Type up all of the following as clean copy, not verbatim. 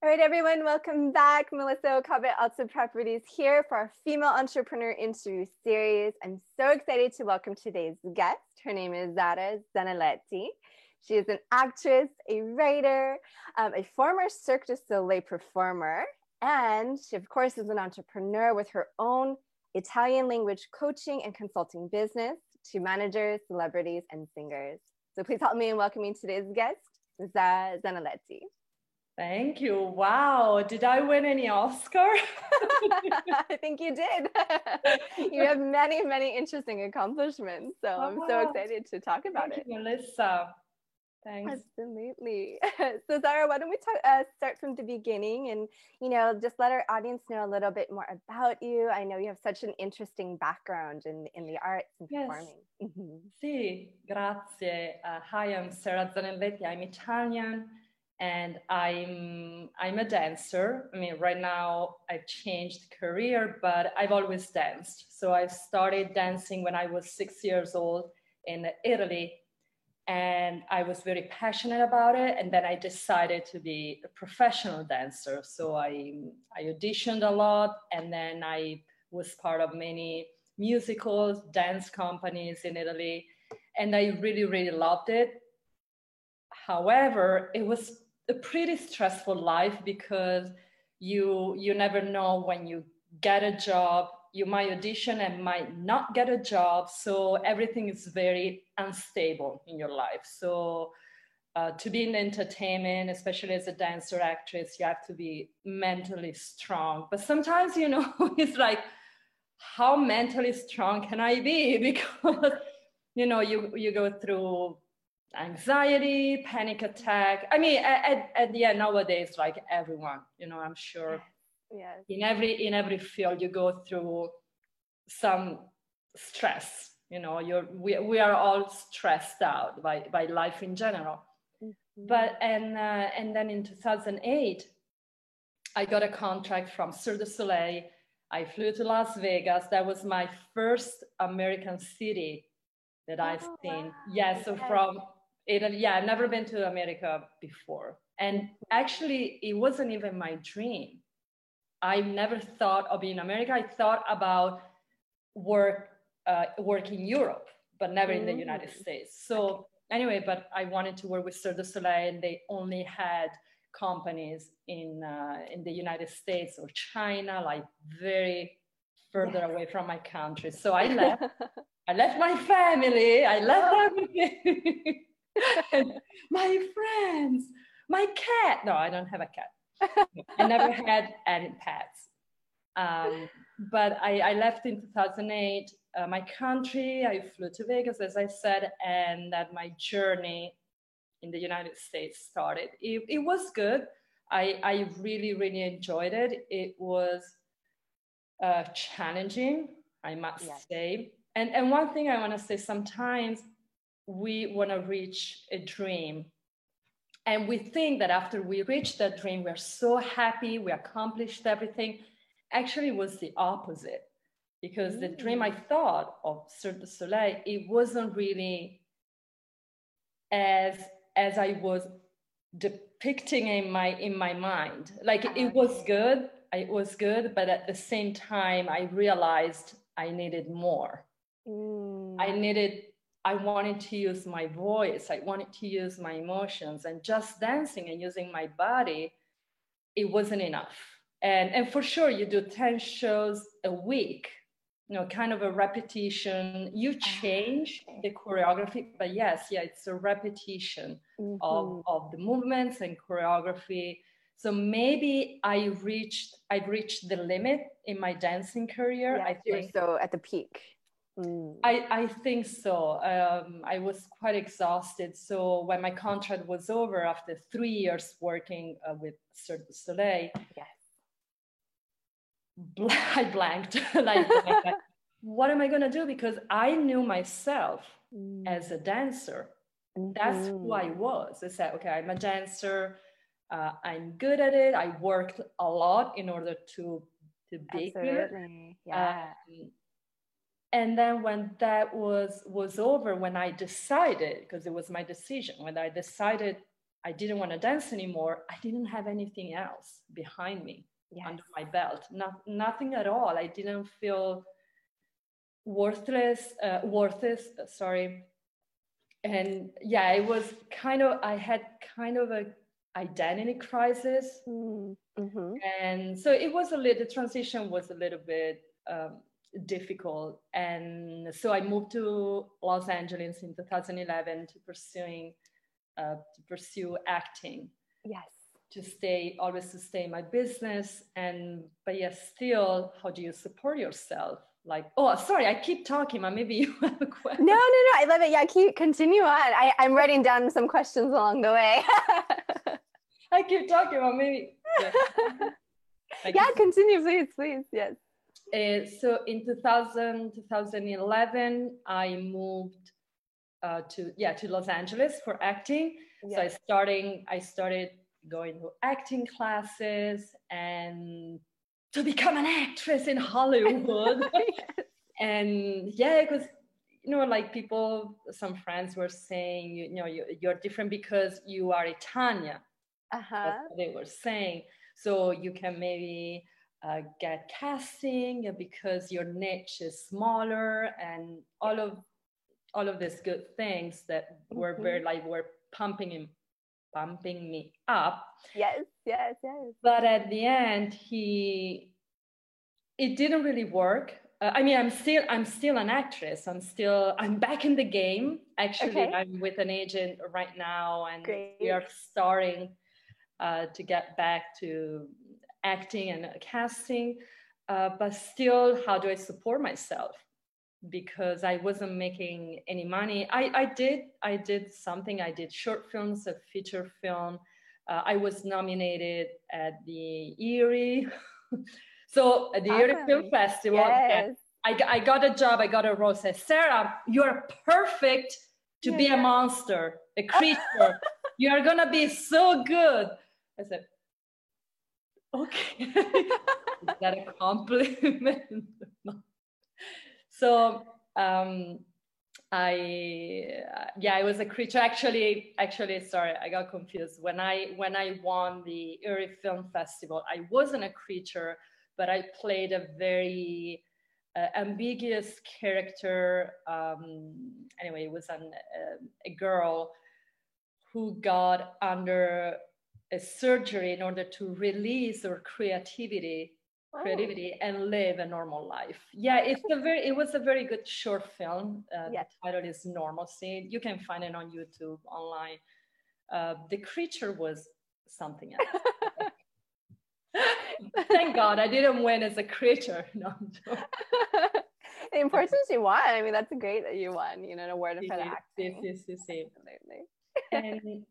All right, everyone, welcome back. Melissa Okabe, Alta Properties here for our Female Entrepreneur Interview Series. I'm so excited to welcome today's guest. Her name is Zara Zanaletti. She is an actress, a writer, a former Cirque du Soleil performer, and she, of course, is an entrepreneur with her own Italian language coaching and consulting business to managers, celebrities, and singers. So please help me in welcoming today's guest, Zara Zanaletti. Thank you. Wow. Did I win any Oscar? I think you did. You have many, many interesting accomplishments. So I'm so excited to talk about it. Thank you, Melissa. Thanks. Absolutely. So Zara, why don't we start from the beginning and, just let our audience know a little bit more about you. I know you have such an interesting background in the arts and performing. Sì, grazie. Hi, I'm Sarah Zanelletti. I'm Italian. And I'm a dancer. I mean, right now I've changed career, but I've always danced. So I started dancing when I was 6 years old in Italy, and I was very passionate about it. And then I decided to be a professional dancer. So I auditioned a lot, and then I was part of many musicals, dance companies in Italy, and I really, really loved it. However, it was a pretty stressful life because you never know when you get a job. You might audition and might not get a job, so everything is very unstable in your life. So to be in entertainment, especially as a dancer actress, you have to be mentally strong. But sometimes, it's like, how mentally strong can I be? Because you go through anxiety, panic attack. I mean, at the end, nowadays, like everyone, I'm sure in every field you go through some stress. We are all stressed out by life in general. But and then in 2008, I got a contract from Cirque du Soleil. I flew to Las Vegas. That was my first American city that I've seen. Wow. Yeah, so from Italy, I've never been to America before. And actually, it wasn't even my dream. I never thought of being in America. I thought about work in Europe, but never in the United States. So anyway, but I wanted to work with Cirque du Soleil, and they only had companies in the United States or China, like very further away from my country. So I left. I left my family. I left everything. And my friends, my cat. No, I don't have a cat. I never had any pets. But I left in 2008 my country. I flew to Vegas, as I said, and that my journey in the United States started. It was good. I really, really enjoyed it. It was challenging, I must say. And one thing I want to say, sometimes we want to reach a dream. And we think that after we reach that dream, we're so happy, we accomplished everything. Actually, it was the opposite. Because the dream I thought of Cirque du Soleil, it wasn't really as I was depicting in my mind. Like it was good, but at the same time, I realized I needed more. I wanted to use my voice. I wanted to use my emotions, and just dancing and using my body, it wasn't enough. And for sure, you do 10 shows a week, kind of a repetition. You change the choreography, but it's a repetition of the movements and choreography. So maybe I've reached the limit in my dancing career. I think you're so at the peak. I think so. I was quite exhausted. So when my contract was over after 3 years working with Cirque du Soleil, I blanked. like, what am I going to do? Because I knew myself as a dancer. That's who I was. I said, okay, I'm a dancer. I'm good at it. I worked a lot in order to be good. And then when that was over, when I decided, because it was my decision, when I decided I didn't want to dance anymore, I didn't have anything else behind me, under my belt. Nothing at all. I didn't feel worth it, sorry. And yeah, it was I had kind of a identity crisis. Mm-hmm. And so the transition was a little bit difficult. And so I moved to Los Angeles in 2011 to pursue acting. Yes. To stay in my business. But yes, still, how do you support yourself? Like, oh, sorry, I keep talking, but maybe you have a question. No, I love it. Yeah, continue on. I'm writing down some questions along the way. I keep talking, but maybe. Yeah, continue, please. Yes. So in 2011, I moved to Los Angeles for acting. Yes. So I started going to acting classes and to become an actress in Hollywood. Yes. And yeah, because like some friends were saying, you're different because you are Italian. That's what they were saying. So you can maybe get casting because your niche is smaller, and all of these good things that were very were pumping me up. Yes. But at the end, it didn't really work. I'm still an actress. I'm back in the game. Actually, okay. I'm with an agent right now, and we are starting to get back to acting and casting. But still, how do I support myself? Because I wasn't making any money. I did something. I did short films, a feature film. I was nominated at the Erie. So at the Erie Film Festival, yes. I got a job. I got a role. Said, Sarah, you're perfect to be a monster, a creature. You are gonna be so good. I said, okay. Is that a compliment? So I was a creature. Actually, sorry, I got confused. When I won the Erie Film Festival, I wasn't a creature, but I played a very ambiguous character. Anyway, it was a girl who got under a surgery in order to release her creativity and live a normal life. Yeah, it was a very good short film. The title is Normalcy. You can find it on YouTube, online. The creature was something else. Thank God I didn't win as a creature. No, the importance you won. I mean, that's great that you won, an award for the acting. Yes. Absolutely. And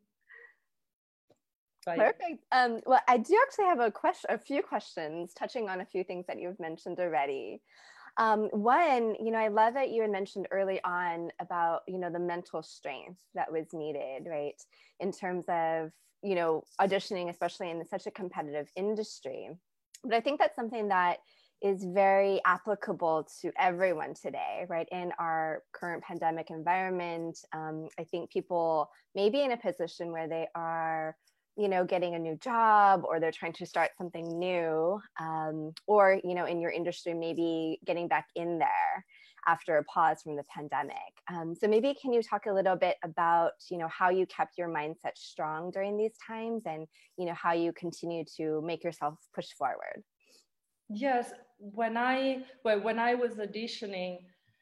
perfect. Well, I do actually have a few questions touching on a few things that you've mentioned already. One, I love that you had mentioned early on about, the mental strength that was needed, right? In terms of, auditioning, especially in such a competitive industry. But I think that's something that is very applicable to everyone today, right? In our current pandemic environment, I think people may be in a position where they are getting a new job, or they're trying to start something new, or, in your industry, maybe getting back in there after a pause from the pandemic. So maybe can you talk a little bit about, how you kept your mindset strong during these times, and, how you continue to make yourself push forward? Yes, when I was auditioning,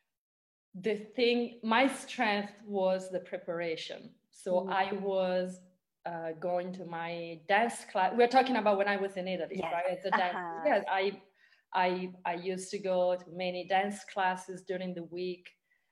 my strength was the preparation. So I was going to my dance class. We're talking about when I was in Italy, right? As a dance. Yes, I used to go to many dance classes during the week.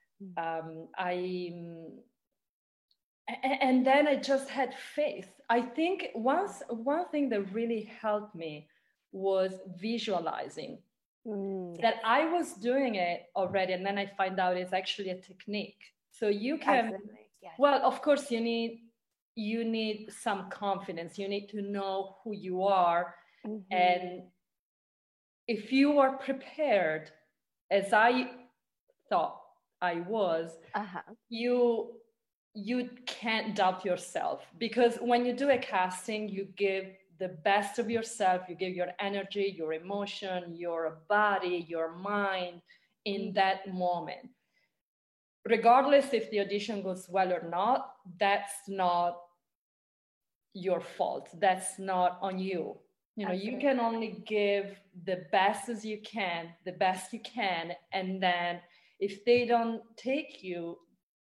And then I just had faith. I think one thing that really helped me was visualizing that I was doing it already, and then I find out it's actually a technique. So you can, well, of course, you need some confidence. You need to know who you are. And if you are prepared, as I thought I was, you can't doubt yourself, because when you do a casting, you give the best of yourself, you give your energy, your emotion, your body, your mind in that moment. Regardless if the audition goes well or not, that's not your fault. That's not on you. You know, you can only give the best as you can, the best you can. And then if they don't take you,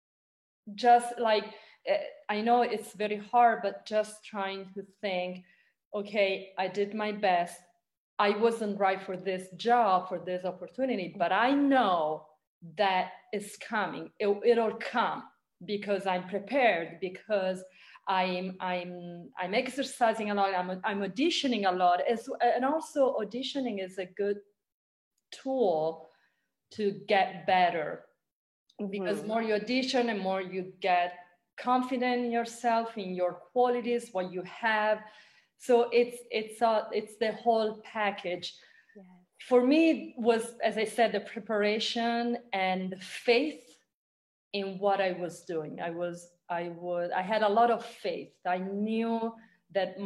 just like, I know it's very hard, but just trying to think, okay, I did my best. I wasn't right for this job, for this opportunity, but I know that it's coming. It'll come because I'm prepared, because I'm exercising a lot. I'm auditioning a lot, and also auditioning is a good tool to get better, because more you audition and more you get confident in yourself, in your qualities, what you have. So it's the whole package. Yes. For me, it was, as I said, the preparation and the faith in what I was doing. I had a lot of faith. I knew that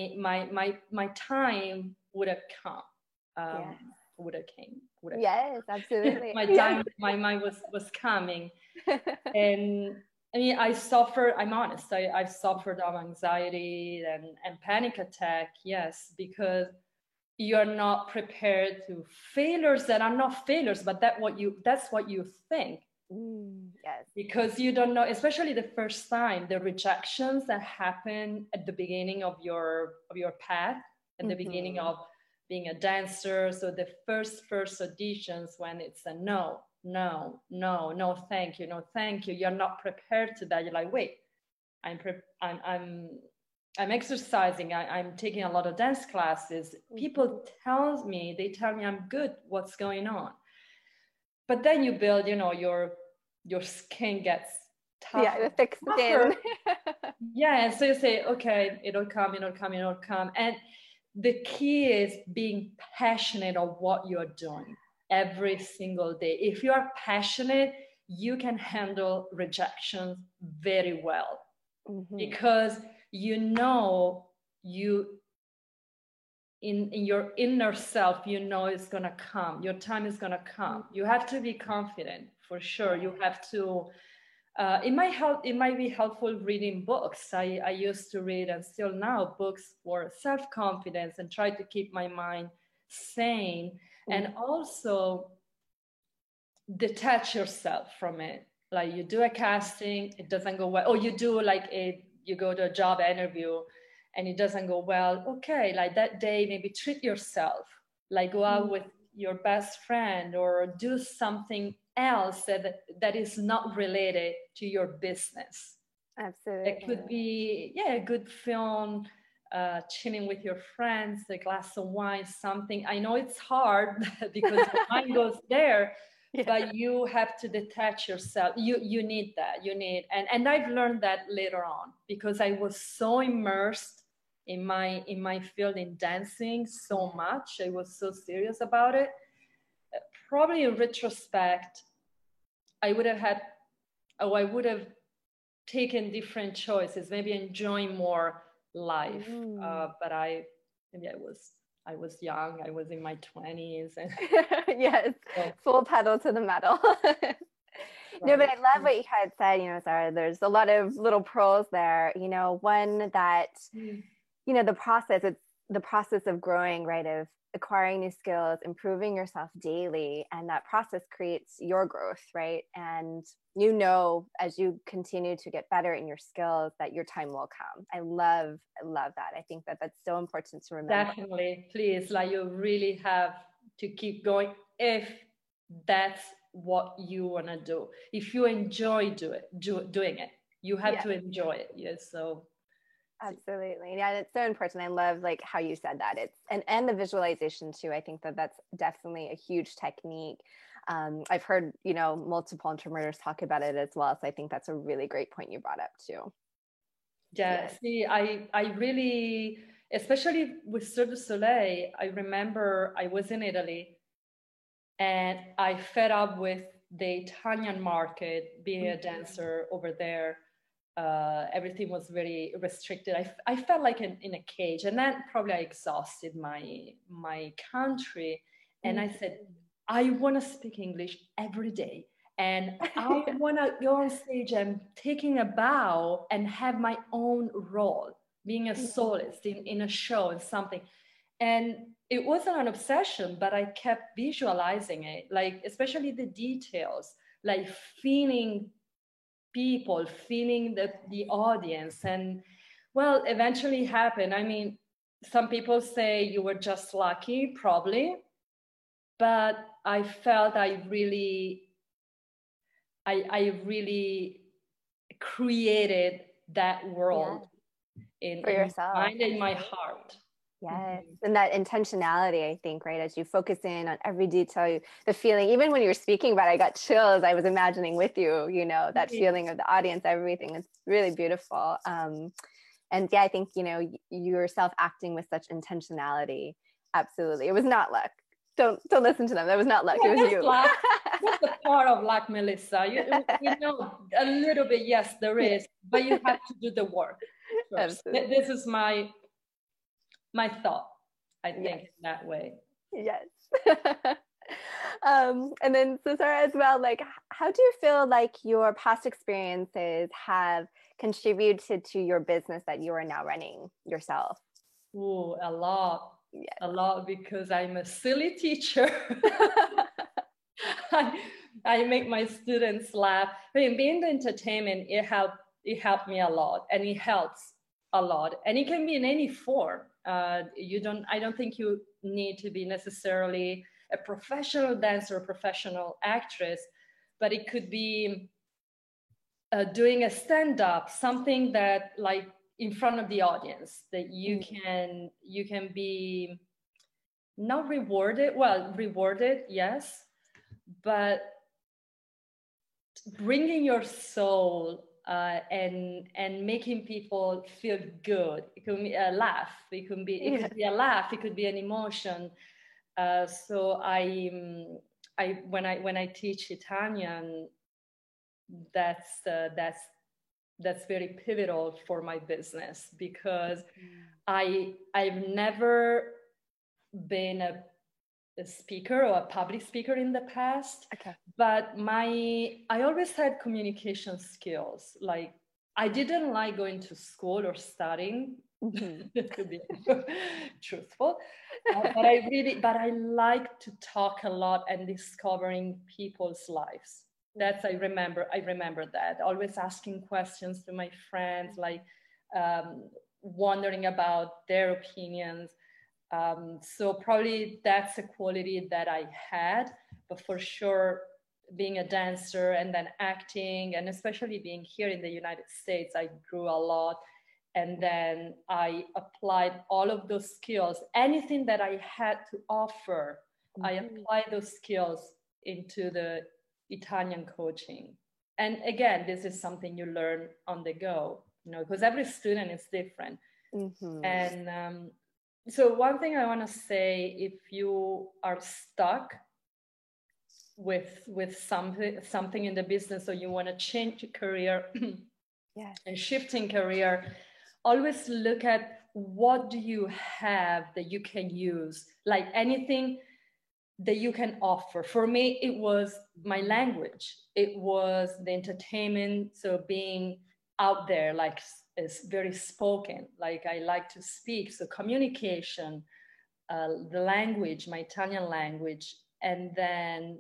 my time would have come. Would have came. Yes, absolutely. My time, my mind was coming. And I mean, I'm honest, I've suffered of anxiety and panic attack, yes, because you're not prepared to failures that are not failures, but that's what you think. Yes. Because you don't know, especially the first time, the rejections that happen at the beginning of your path, at the beginning of being a dancer. So the first auditions, when it's a no, thank you, no, thank you. You're not prepared to that. You're like, wait, I'm exercising. I'm taking a lot of dance classes. People tell me I'm good. What's going on? But then you build, your skin gets tougher. Yeah, the thick skin. Yeah, and so you say, okay, it'll come. And the key is being passionate of what you're doing every single day. If you are passionate, you can handle rejections very well, because in your inner self, it's gonna come. Your time is gonna come. You have to be confident, for sure. You have to. It might be helpful reading books. I used to read, and still now, books for self-confidence, and try to keep my mind sane, and also detach yourself from it. Like, you do a casting, it doesn't go well, or you do you go to a job interview and it doesn't go well. Okay, like that day, maybe treat yourself, like go out with your best friend, or do something else that is not related to your business. Absolutely. It could be, a good film, chilling with your friends, a glass of wine, something. I know it's hard because the mind goes there, but you have to detach yourself. You need that. And I've learned that later on, because I was so immersed in my field, in dancing so much. I was so serious about it. Probably in retrospect, I would have taken different choices, maybe enjoying more life. But I was young. I was in my 20s. And yes, full pedal to the metal. Right. No, but I love what you had said, Sara, there's a lot of little pearls there, one that, it's the process of growing, right? Of acquiring new skills, improving yourself daily. And that process creates your growth, right? And as you continue to get better in your skills, that your time will come. I love that. I think that that's so important to remember. Definitely. Please, you really have to keep going if that's what you want to do. If you enjoy doing it, you have to enjoy it. Yes. So absolutely. Yeah, it's so important. I love how you said that. It's and the visualization too. I think that that's definitely a huge technique. I've heard, multiple entrepreneurs talk about it as well. So I think that's a really great point you brought up too. Yeah. See, I really, especially with Cirque du Soleil, I remember I was in Italy and I fed up with the Italian market, being a dancer over there. everything was very restricted. I felt like in a cage, and then probably I exhausted my country. And I said, I want to speak English every day. And I want to go on stage and taking a bow and have my own role, being a soloist in a show and something. And it wasn't an obsession, but I kept visualizing it, like especially the details, like feeling people, feeling the audience. And well, eventually happened. I mean, some people say you were just lucky, probably, but I felt I really created that world in yourself, my mind and my heart. Yes. And that intentionality, I think, right? As you focus in on every detail, the feeling, even when you were speaking about it, I got chills. I was imagining with you, you know, that feeling of the audience, everything. It's really beautiful. And yeah, I think, you know, you yourself acting with such intentionality. Absolutely. It was not luck. Don't listen to them. That was not luck. It was you. Luck. That's the part of luck, Melissa. You know, a little bit, yes, there is, but you have to do the work first. This is my thought, I think, in that way. Yes. And then, so Sarah, as well, like, how do you feel like your past experiences have contributed to your business that you are now running yourself? Oh, a lot. Yes. A lot, because I'm a silly teacher. I make my students laugh. I mean, being the entertainment, it helped me a lot, and it helps a lot, and it can be in any form. I don't think you need to be necessarily a professional dancer or professional actress, but it could be doing a stand-up, something that, like, in front of the audience, that you can be not rewarded, yes, but bringing your soul and making people feel good. It could be a laugh. It could be a laugh. It could be an emotion. So when I teach Italian, that's very pivotal for my business, because I've never been a speaker or a public speaker in the past, but I always had communication skills. Like, I didn't like going to school or studying, to be truthful, but I like to talk a lot and discovering people's lives. That's I remember that, always asking questions to my friends, like wondering about their opinions. So probably that's a quality that I had, but for sure, being a dancer and then acting, and especially being here in the United States, I grew a lot. And then I applied all of those skills, anything that I had to offer, I applied those skills into the Italian coaching. And again, this is something you learn on the go, you know, because every student is different. And so one thing I want to say, if you are stuck with something in the business, or you want to change your career and shifting career, always look at what do you have that you can use, like anything that you can offer. For me, it was my language. It was the entertainment. So being out there, like, is very spoken, like I like to speak. So communication, the language, my Italian language, and then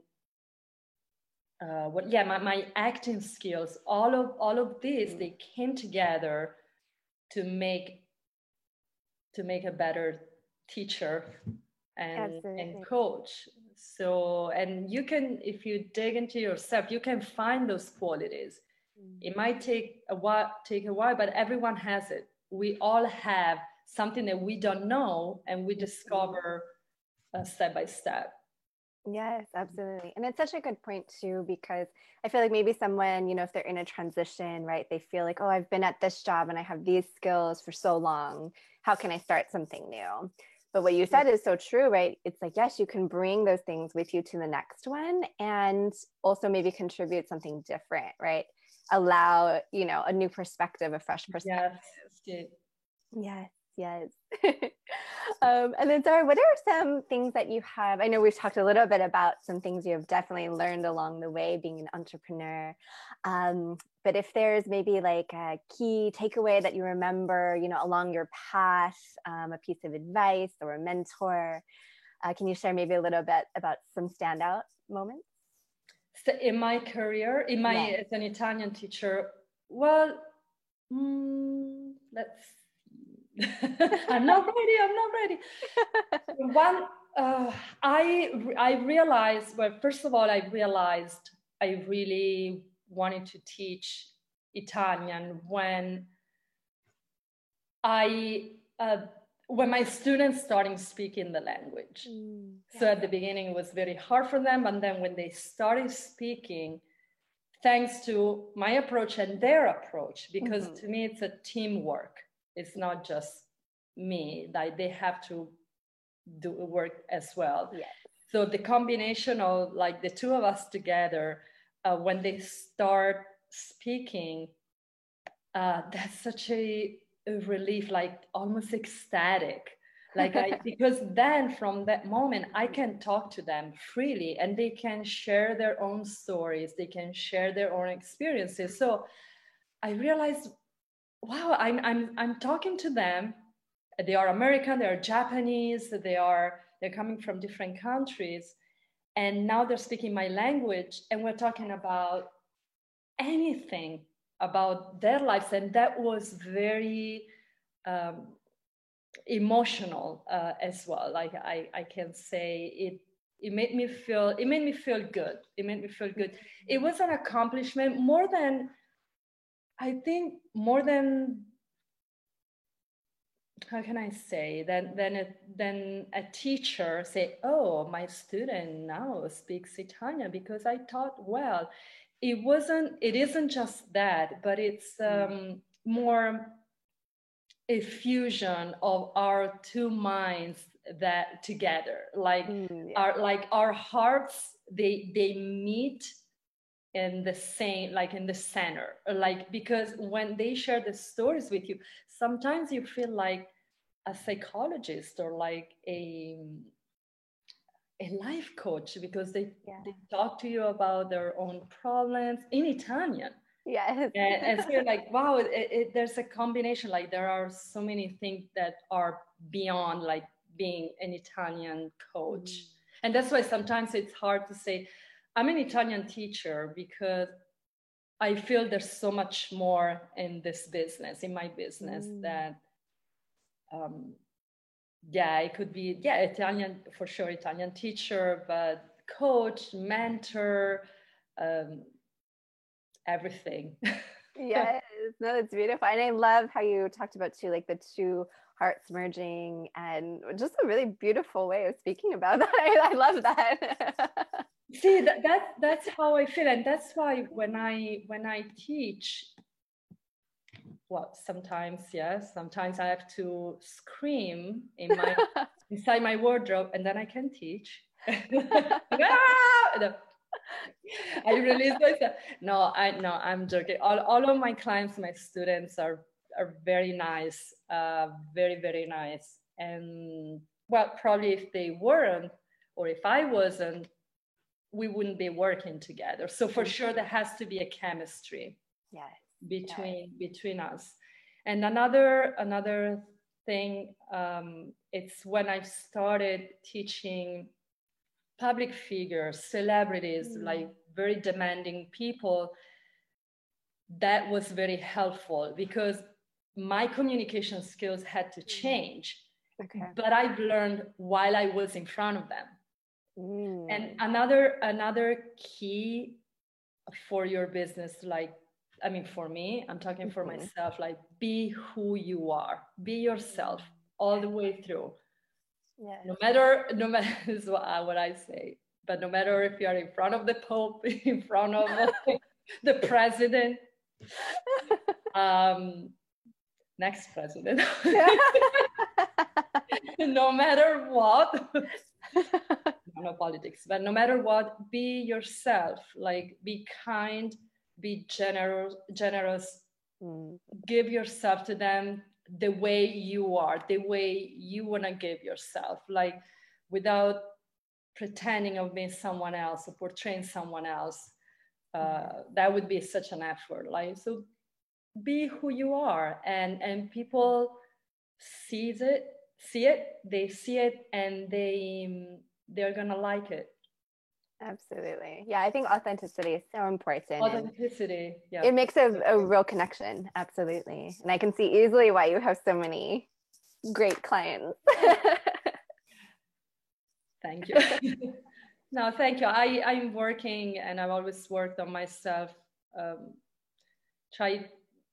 my acting skills, all of these, they came together to make a better teacher and coach. So, and you can, if you dig into yourself, you can find those qualities. It might take a while, but everyone has it. We all have something that we don't know, and we discover step by step. Yes, absolutely. And it's such a good point too, because I feel like maybe someone, you know, if they're in a transition, right, they feel like, oh, I've been at this job and I have these skills for so long. How can I start something new? But what you said is so true, right? It's like, yes, you can bring those things with you to the next one, and also maybe contribute something different, right? allow, you know, a new perspective, a fresh perspective. Yes. Yes, yes. And then, Zara, what are some things that you have? I know we've talked a little bit about some things you have definitely learned along the way being an entrepreneur. But if there's maybe like a key takeaway that you remember, you know, along your path, a piece of advice or a mentor, can you share maybe a little bit about some standout moments? So in my career, as an Italian teacher, well, let's I'm not ready. One, I realized, well, first of all, I realized I really wanted to teach Italian when when my students started speaking the language. So at the beginning, it was very hard for them. And then when they started speaking, thanks to my approach and their approach, because to me, it's a teamwork. It's not just me, like they have to do work as well. Yes. So the combination of like the two of us together, when they start speaking, that's such a relief, like almost ecstatic. Like because then from that moment, I can talk to them freely and they can share their own stories. They can share their own experiences. So I realized, wow, I'm talking to them. They are American, they are Japanese, they're coming from different countries. And now they're speaking my language and we're talking about anything about their lives. And that was very emotional as well. Like I can say it made me feel good. It was an accomplishment more than how can I say, than a teacher say, oh, my student now speaks Italian because I taught well. It isn't just that, but it's more a fusion of our two minds that together, like our hearts, they meet in the same, like in the center, like, because when they share the stories with you, sometimes you feel like a psychologist or like a life coach, because they talk to you about their own problems in Italian. Yes. And so you're like, wow, there's a combination, like there are so many things that are beyond like being an Italian coach. And that's why sometimes it's hard to say I'm an Italian teacher, because I feel there's so much more in this business, in my business, that it could be Italian, for sure, Italian teacher, but coach, mentor, everything. Yes, no, it's beautiful. And I love how you talked about too, like the two hearts merging, and just a really beautiful way of speaking about that. I love that. See, that's how I feel. And that's why when I teach, well, sometimes I have to scream inside my wardrobe, and then I can teach. I release myself. No, I'm joking. All of my clients, my students are very nice, very, very nice. And well, probably if they weren't, or if I wasn't, we wouldn't be working together. So for sure, there has to be a chemistry between us. And another thing, it's when I started teaching public figures, celebrities, like very demanding people, that was very helpful because my communication skills had to change. But I've learned while I was in front of them. And another key for your business, like, I mean, for me, I'm talking for myself, like, be who you are, be yourself all the way through. No matter this is what I say, but no matter if you are in front of the Pope, in front of the president, next president, no matter what, no politics, but no matter what, be yourself, like be kind, be generous, give yourself to them the way you are, the way you want to give yourself, like without pretending of being someone else or portraying someone else. That would be such an effort. Like, so be who you are, and people see it, they see it, and they're gonna like it. Absolutely. Yeah, I think authenticity is so important. Authenticity, yeah. It makes a real connection. Absolutely. And I can see easily why you have so many great clients. Thank you. No, thank you. I'm working, and I've always worked on myself. Try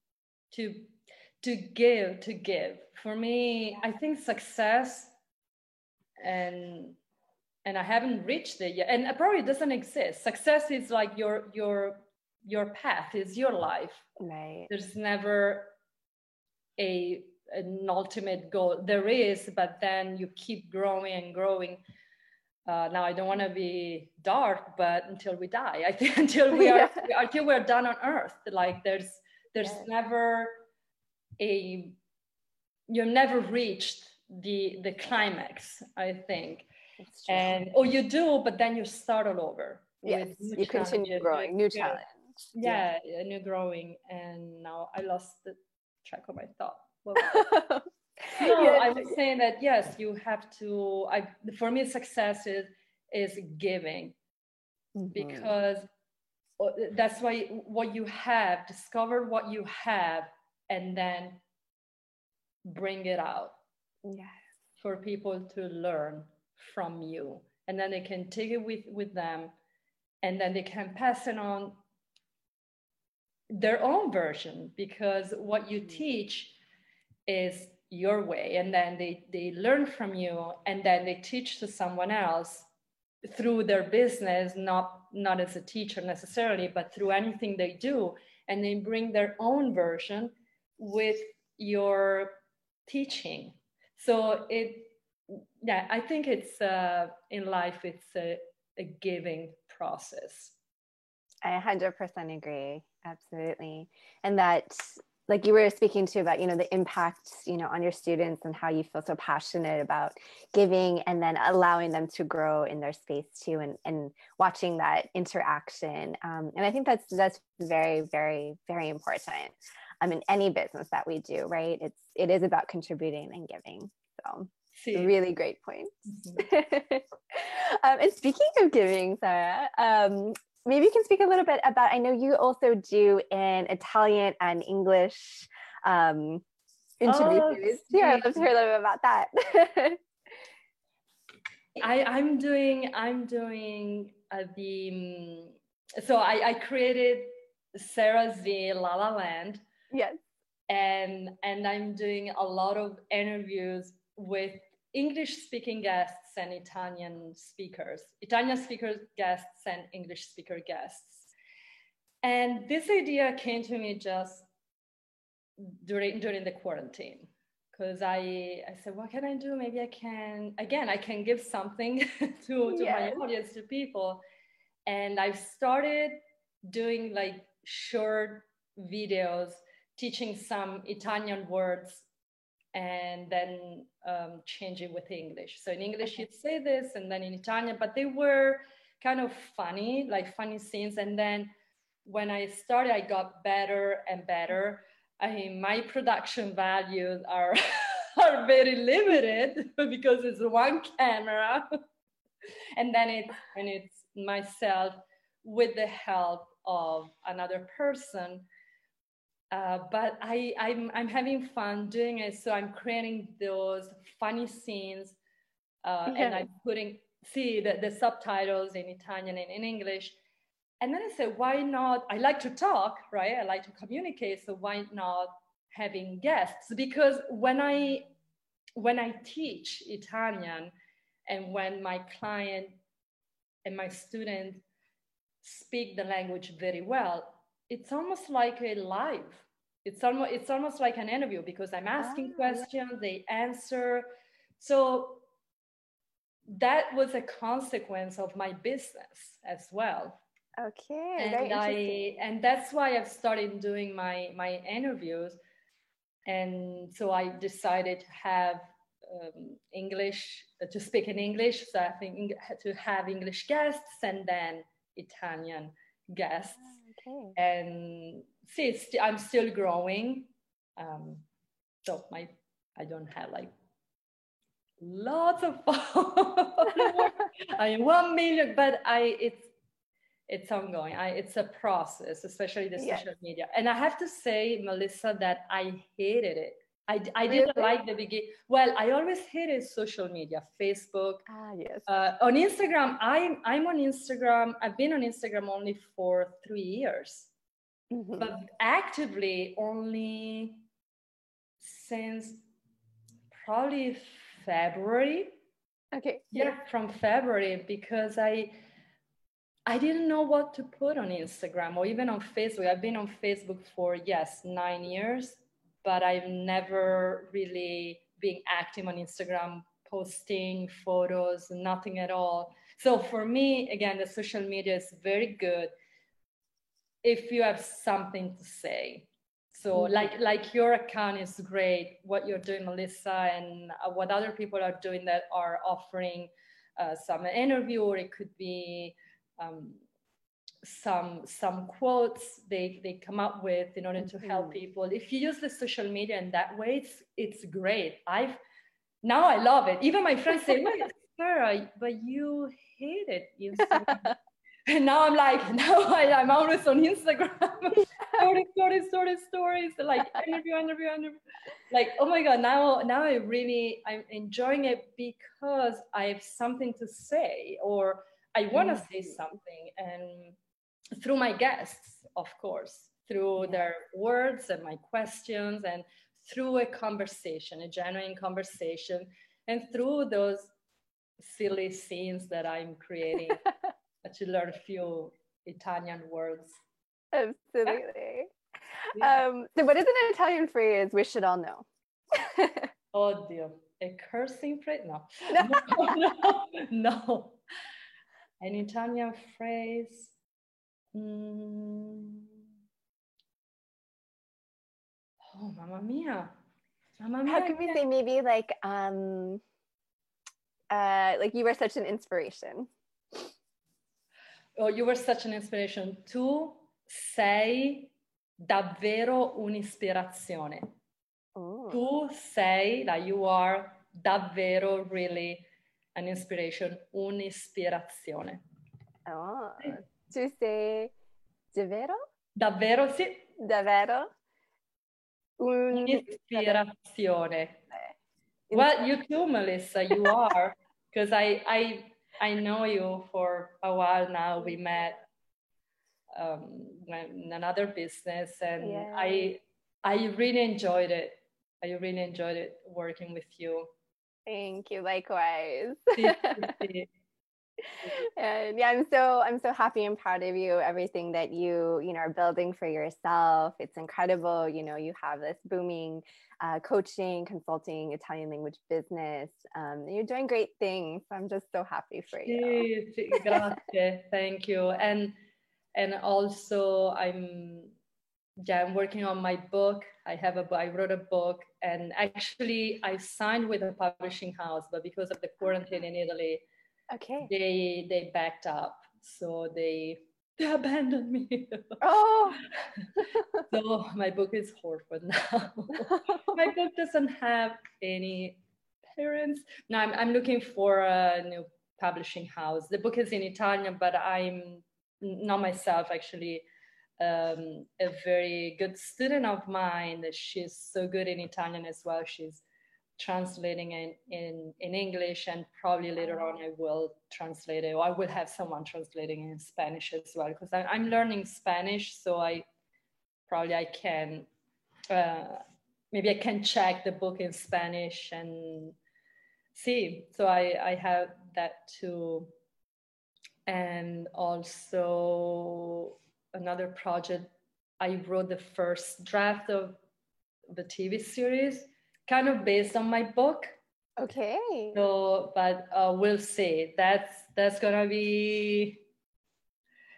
to give. For me, I think success, and I haven't reached it yet, and it probably doesn't exist. Success is like your path, is your life. Right. There's never an ultimate goal. There is, but then you keep growing and growing. Now I don't want to be dark, but until we die, I think until we're done on Earth, like there's never you've never reached the climax, I think. And you do, but then you start all over. Yes, you continue growing, new challenge. Yeah, new growing. And now I lost the track of my thought. I was saying that yes, you have to. For me, success is giving, because that's why what you have, discover what you have, and then bring it out. Yes. For people to learn from you, and then they can take it with them, and then they can pass it on their own version, because what you teach is your way, and then they learn from you, and then they teach to someone else through their business, not as a teacher necessarily, but through anything they do, and they bring their own version with your teaching. So I think it's in life, it's a giving process. I 100% agree. Absolutely. And that, like you were speaking to about, the impact, on your students, and how you feel so passionate about giving and then allowing them to grow in their space too, and watching that interaction. And I think that's very, very, very important. In any business that we do, right? It is about contributing and giving. So really great point. And speaking of giving, Sara, maybe you can speak a little bit about, I know you also do an Italian and English interview series. Yeah, I'd love to hear a little bit about that. I'm doing so I created Sarah's La La Land. Yes. And I'm doing a lot of interviews with English speaking guests and Italian speaker guests and English speaker guests. And this idea came to me just during the quarantine, because I said, what can I do? Maybe I can give something to my audience, to people. And I've started doing like short videos teaching some Italian words, and then changing with English. So in English, you'd say this, and then in Italian, but they were kind of funny, like funny scenes. And then when I started, I got better and better. I mean, my production values are very limited because it's one camera, and then it's myself with the help of another person. But I'm having fun doing it. So I'm creating those funny scenes, and I'm putting the subtitles in Italian and in English. And then I said, why not? I like to talk, right? I like to communicate. So why not having guests? Because when I teach Italian, and when my client and my student speak the language very well, it's almost like a live. It's almost like an interview, because I'm asking questions, they answer. So that was a consequence of my business as well. Okay, very interesting. And that's why I've started doing my interviews. And so I decided to have English, to speak in English. So I think to have English guests and then Italian guests. Okay. And see, I'm still growing. So I don't have like lots of followers. I mean, 1 million, but it's ongoing. It's a process, especially the social media. And I have to say, Melissa, that I hated it. I Really? didn't like the beginning. Well, I always hated social media, Facebook. Yes. On Instagram, I'm on Instagram. I've been on Instagram only for 3 years, but actively only since probably February. Okay. Yeah, from February, because I didn't know what to put on Instagram or even on Facebook. I've been on Facebook for, 9 years, but I've never really been active on Instagram, posting photos, nothing at all. So for me, again, the social media is very good if you have something to say. So like your account is great, what you're doing, Melissa, and what other people are doing that are offering some interview, or it could be some quotes they come up with in order to help people. If you use the social media in that way, it's great. Now I love it. Even my friends say, "Wait, Sarah, but you hate it." And now I'm like, I'm always on Instagram. stories, like interview. Like, oh my God, now I'm enjoying it because I have something to say, or I want to say something. And through my guests, of course, through their words and my questions, and through a conversation, a genuine conversation, and through those silly scenes that I'm creating to learn a few Italian words. Absolutely. So what is an Italian phrase we should all know? Oddio, a cursing phrase? No. No. An Italian phrase? Oh, mamma mia. How can we say maybe like you were such an inspiration? Oh, you were such an inspiration. Tu sei davvero un'ispirazione. Tu sei, like you are davvero really an inspiration, un'ispirazione. Oh, tu sei davvero? Davvero, sì. Davvero? Un'ispirazione. Well, you too, Melissa, you are, because I know you for a while now. We met in another business, and I really enjoyed it. I really enjoyed it working with you. Thank you. Likewise. And I'm so happy and proud of you. Everything that you are building for yourself. It's incredible. You have this booming coaching, consulting, Italian language business. You're doing great things. I'm just so happy for you. Grazie. Thank you. And also I'm working on my book. I wrote a book, and actually I signed with a publishing house, but because of the quarantine in Italy, they backed up. So they abandoned me. Oh. So my book is orphaned now. My book doesn't have any parents. No, I'm looking for a new publishing house. The book is in Italian, but I'm not myself, actually. A very good student of mine, she's so good in Italian as well. She's translating in English, and probably later on I will translate it, or I will have someone translating in Spanish as well, because I'm learning Spanish. So I can maybe I can check the book in Spanish and see. So I have that too. And also another project, I wrote the first draft of the TV series, kind of based on my book. Okay. So, but we'll see. That's gonna be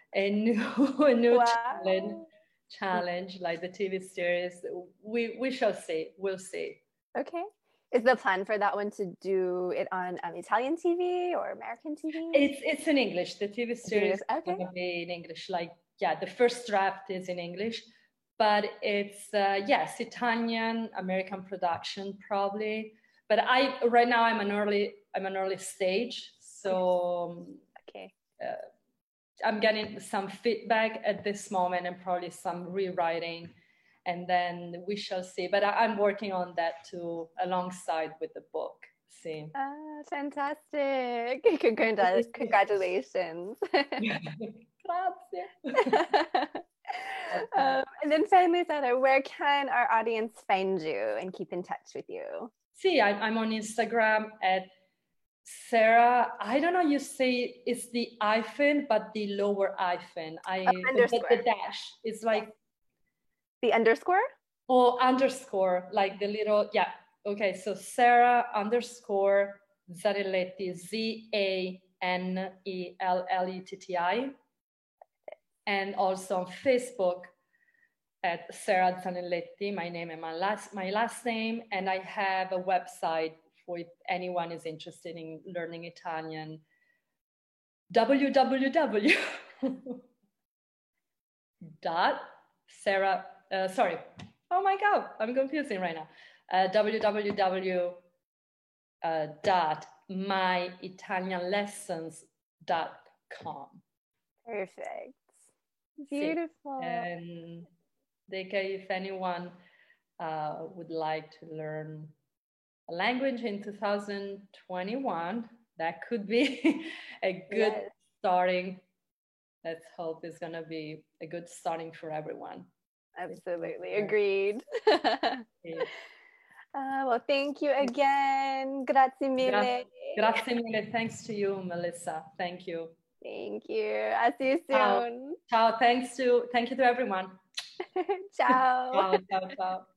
a new Wow. challenge like the TV series. We shall see. We'll see. Okay. Is the plan for that one to do it on Italian TV or American TV? It's in English. The TV series is Okay. going to be in English. Like, yeah, the first draft is in English, but it's yes, Italian American production probably. But right now I'm an early stage, so okay. I'm getting some feedback at this moment and probably some rewriting, and then we shall see. But I'm working on that too, alongside with the book. See. Ah, fantastic! Congratulations. Grazie. And then finally, Sara, where can our audience find you and keep in touch with you? See, I'm on Instagram at Sarah. I don't know. You say it's the hyphen, but the lower hyphen. The dash is like the underscore. Oh, underscore, like the little, yeah. Okay, so Sarah underscore Zanelletti, Zanelletti. And also on Facebook at Sarah Zanelletti, my name and my last name. And I have a website for if anyone is interested in learning Italian, www. Oh my God, I'm confusing right now. www.myitalianlessons.com. Perfect. Beautiful. And if anyone would like to learn a language in 2021, that could be a good starting. Let's hope it's going to be a good starting for everyone. Absolutely. Agreed. Well, thank you again. Grazie mille. Grazie mille. Thanks to you, Melissa. Thank you. Thank you. I'll see you soon. Ciao. Thank you to everyone. Ciao. Ciao.